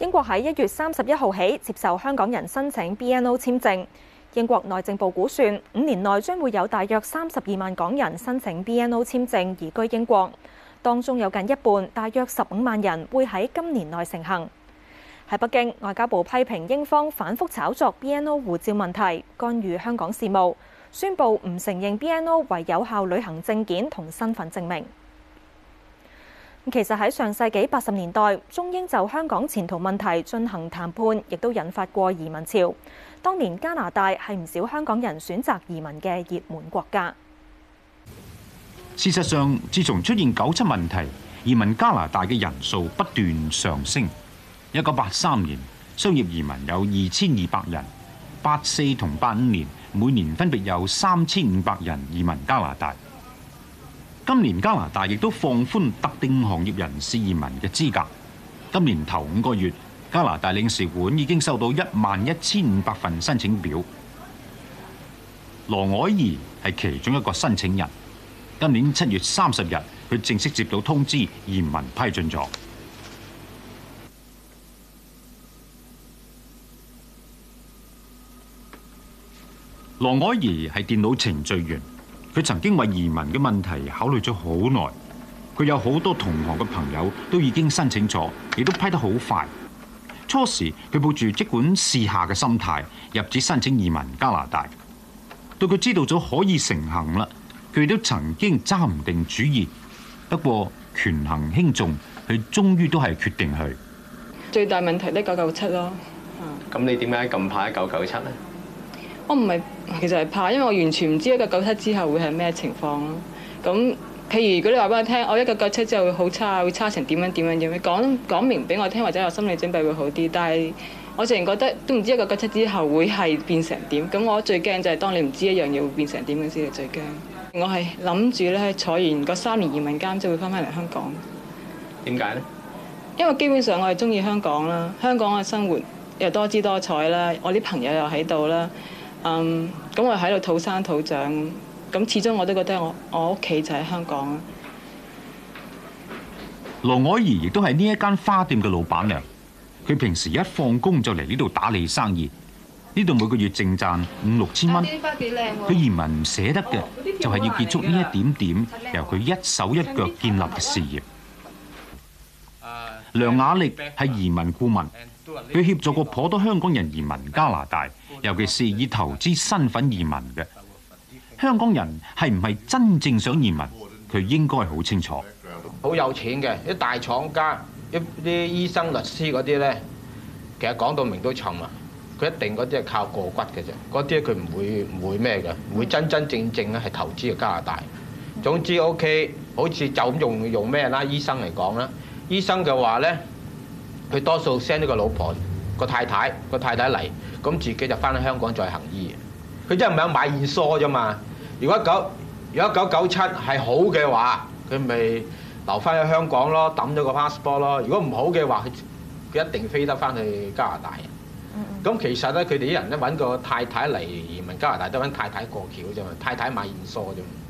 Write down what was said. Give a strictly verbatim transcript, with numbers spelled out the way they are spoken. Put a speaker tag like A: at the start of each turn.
A: 英國喺一月三十一號起接受香港人申請 B N O 簽證。英國內政部估算，五年內將會有大約三十二萬港人申請 B N O 簽證移居英國，當中有近一半，大約十五萬人會喺今年內成行。喺北京，外交部批評英方反覆炒作 B N O 護照問題，干預香港事務，宣布唔承認 B N O 為有效旅行證件同身份證明。其實喺上世紀八十年代，中英就香港前途問題進行談判，亦都引發過移民潮。當年加拿大係唔少香港人選擇移民嘅熱門國家。
B: 事實上，自從出現九七問題，移民加拿大嘅人數不斷上升。一九八三年，商業移民有二千二百人；八四同八五年，每年分別有三千五百人移民加拿大。今年加拿大亦都放寬特定行業人士移民嘅資格。今年頭五個月，加拿大領事館已經收到一萬一千五百份申請表。羅靄儀係其中一個申請人。今年七月三十日，佢正式接到通知，移民批准咗。羅靄儀係電腦程序員。佢曾經為移民嘅問題考慮咗好耐，佢有好多同行嘅朋友都已經申請咗，亦都批得好快。初時佢抱住即管試下嘅心態入紙申請移民加拿大，到佢知道咗可以成行啦，佢亦都曾經揸唔定主意。不過權衡輕重，佢終於都係決定去。
C: 最大問題都九九七咯。
D: 咁你點解咁怕一九九七呢？
C: 我唔係，其實係怕，因為我完全唔知一九九七之後會係咩情況咯。咁譬如如果你話俾我聽，我一九九七之後會好差，會差成點樣點樣點樣，講講明俾我聽，或者有心理準備會好啲。但係我淨係覺得都唔知一九九七之後會係變成點。咁我最驚就係當你唔知一樣嘢會變成點嘅先係最驚。我係諗住咧坐完嗰三年移民監之後會翻返嚟香港。
D: 點解呢？
C: 因為基本上我係中意香港啦，香港嘅生活又多姿多彩啦，我啲朋友又喺度啦。嗯，咁我喺度土生土長，咁始終我都覺得我我屋企就喺香港。
B: 羅靄儀亦都係呢一間花店嘅老闆娘，佢平時一放工就嚟呢度打理生意，呢度每個月淨賺五六千蚊。佢移民唔捨得嘅，就係要結束呢一點點由佢一手一腳建立嘅事業。梁雅力係移民顧問，佢協助過頗多香港人移民加拿大，尤其是以投資身份移民嘅。香港人係唔係真正想移民，佢應該好清楚。
E: 好有錢嘅啲大廠家、一啲醫生、律師嗰啲咧，其實講到明都沉啊！佢一定嗰啲係靠過骨嘅啫，嗰啲佢唔會唔會咩嘅，唔會真真正正咧係投資嘅加拿大。總之 OK， 好似就咁用用咩啦？醫生嚟講啦。醫生嘅話咧，佢多數 send 呢個老婆、個太太、個太太嚟，咁自己就翻去香港再行醫。佢真係唔係買現疏啫嘛？如果九如果九九七係好嘅話，佢咪留翻去香港咯，抌咗個 passport 咯。如果唔好嘅話，佢佢一定飛得翻去加拿大。咁、嗯、其實咧，佢哋啲人咧揾個太太嚟移民加拿大，都揾太太過橋啫嘛，太太買現疏啫嘛。